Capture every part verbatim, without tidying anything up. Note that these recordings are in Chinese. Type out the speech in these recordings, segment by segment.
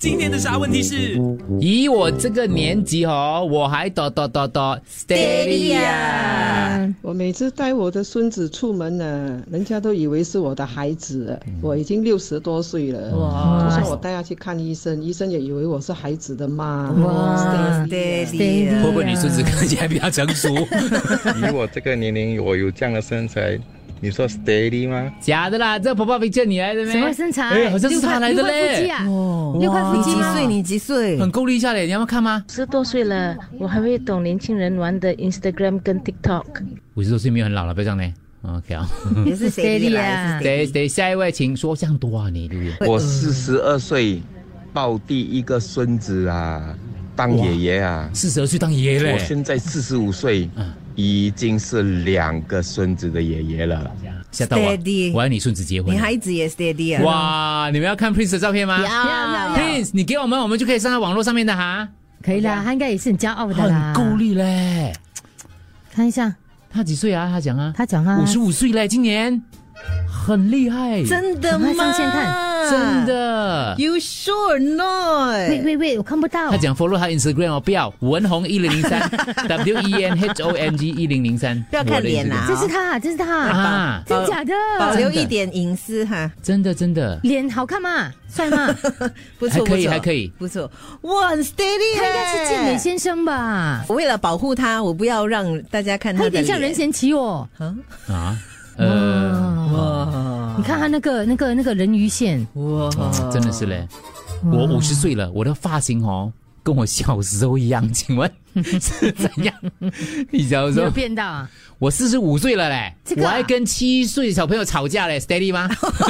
今天的啥问题是？ 以我这个年纪哦，我还哆哆哆哆 steady 啊！ 我每次带我的孙子出门呢，人家都以为是我的孩子了。我已经六十多岁了，哇！就算我带他去看医生，医生也以为我是孩子的妈。 哇 ，steady， 会不会你孙子看起来比较成熟？ 以我这个年龄，我有这样的身材。你说 steady 吗？ 假的啦，这婆婆 picture 你来的咩？ 什么身材？ 哎，好像是他来的嘞。 六块腹肌啊！ 你几岁？你几岁？ 很够力一下嘞，你要不要看吗？ 十多岁了，我还会懂年轻人玩的 Instagram 跟 TikTok。 五十多岁没有很老了，不要这样嘞。OK 啊， 也是 steady 啊。 对对，下一位请说，这样多啊你，对不对？ 我四十二岁，抱第一个孙子啊，当爷爷啊。 四十二岁当爷爷嘞。 我现在四十五岁。嗯。已经是两个孙子的爷爷了， 吓到我！我要你孙子结婚， 你孩子也 steady 啊！ 哇，你们要看 Prince 的照片吗？ 要要 Prince， 你给我们，我们就可以上到网络上面的哈。 可以啦，他应该也是很骄傲的啦， 很够力嘞。 看一下， 他几岁啊？他讲啊， 他讲啊， 五十五岁嘞，今年很厉害， 真的吗？ 上线看。 真的 ？You sure not？ 喂喂喂，我看不到。 他讲 follow 他 Instagram 哦，不要文红一零零三 W E N H O N G 一零零三， 不要看脸啊！ 这是他，这是他啊！真假的？ 保留一点隐私哈。 真的真的。 脸好看吗？帅吗？ 不错， 可以还可以， 不错。哇，很 steady， 他应该是健美先生吧？ 为了保护他，我不要让大家看他的脸。 他有点像任贤齐哦。 啊？呃， 哇！ 你看他那个、那个、那个人鱼线， 哇， 真的是嘞！我五十岁了，我的发型哦，跟我小时候一样，请问是怎样？你小时候有变到啊？ 我四十五岁了嘞， 这个啊、 我还跟七岁小朋友吵架嘞 ，steady 吗？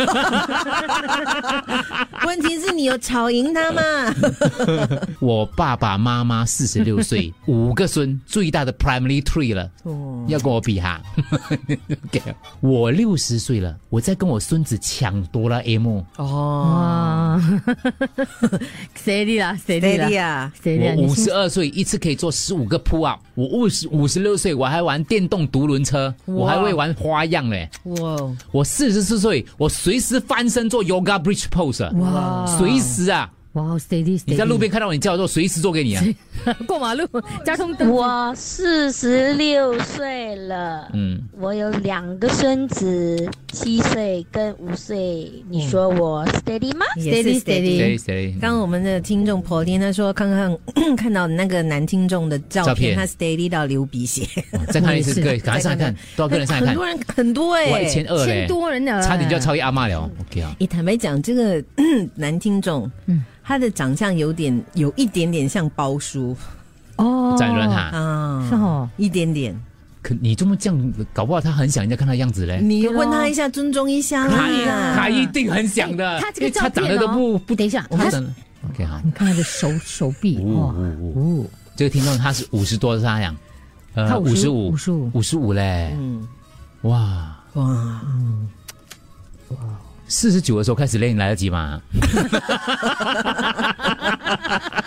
问题是你有吵赢他吗？ 我爸爸妈妈四十六岁，五个孙，最大的 primary three 了，哦、要跟我比哈。okay, 我六十岁了，我在跟我孙子抢哆啦 A 梦。 哦 ，steady 啦 ，steady 啦 ，steady 我五十二岁，一次可以做十五个 pull up。我五十五十六岁，我还玩电动独轮车，我还会玩花样嘞。哇！我四十四岁，我随时翻身做 yoga bridge pose。哇！随时啊！ 哇 ，steady， 你在路边看到你叫我做，随时做给你啊！ 过马路，交通灯。 我四十六岁了，嗯，我有两个孙子，七岁跟五岁。你说我 steady 吗？ 也是 steady steady。 刚刚我们的听众婆天他说，看看看到那个男听众的照片，他 steady 到流鼻血。 再看一次，对，赶快上来看，多少个人上来看？ 很多人，很多哎， 我一千二嘞， 千多人呢， 差点就要超越阿嬷了。OK 啊。 你坦白讲，这个男听众，嗯。他的长相有点有一点点像包叔哦， 展伦哈啊， 是哦， 一点点。 可你这么这样，搞不好他很想人家看他的样子嘞。 你问他一下，尊重一下啦。他一定很想的。 他这个照片、哦、 他长得都不不， 等一下， 他 OK 好， 你看他的手手臂哦哦，这个听众他是五十多，他讲，呃，他五十五， 五十五， 五十五嘞，嗯，哇哇，嗯，哇。四十九的时候开始练，来得及吗？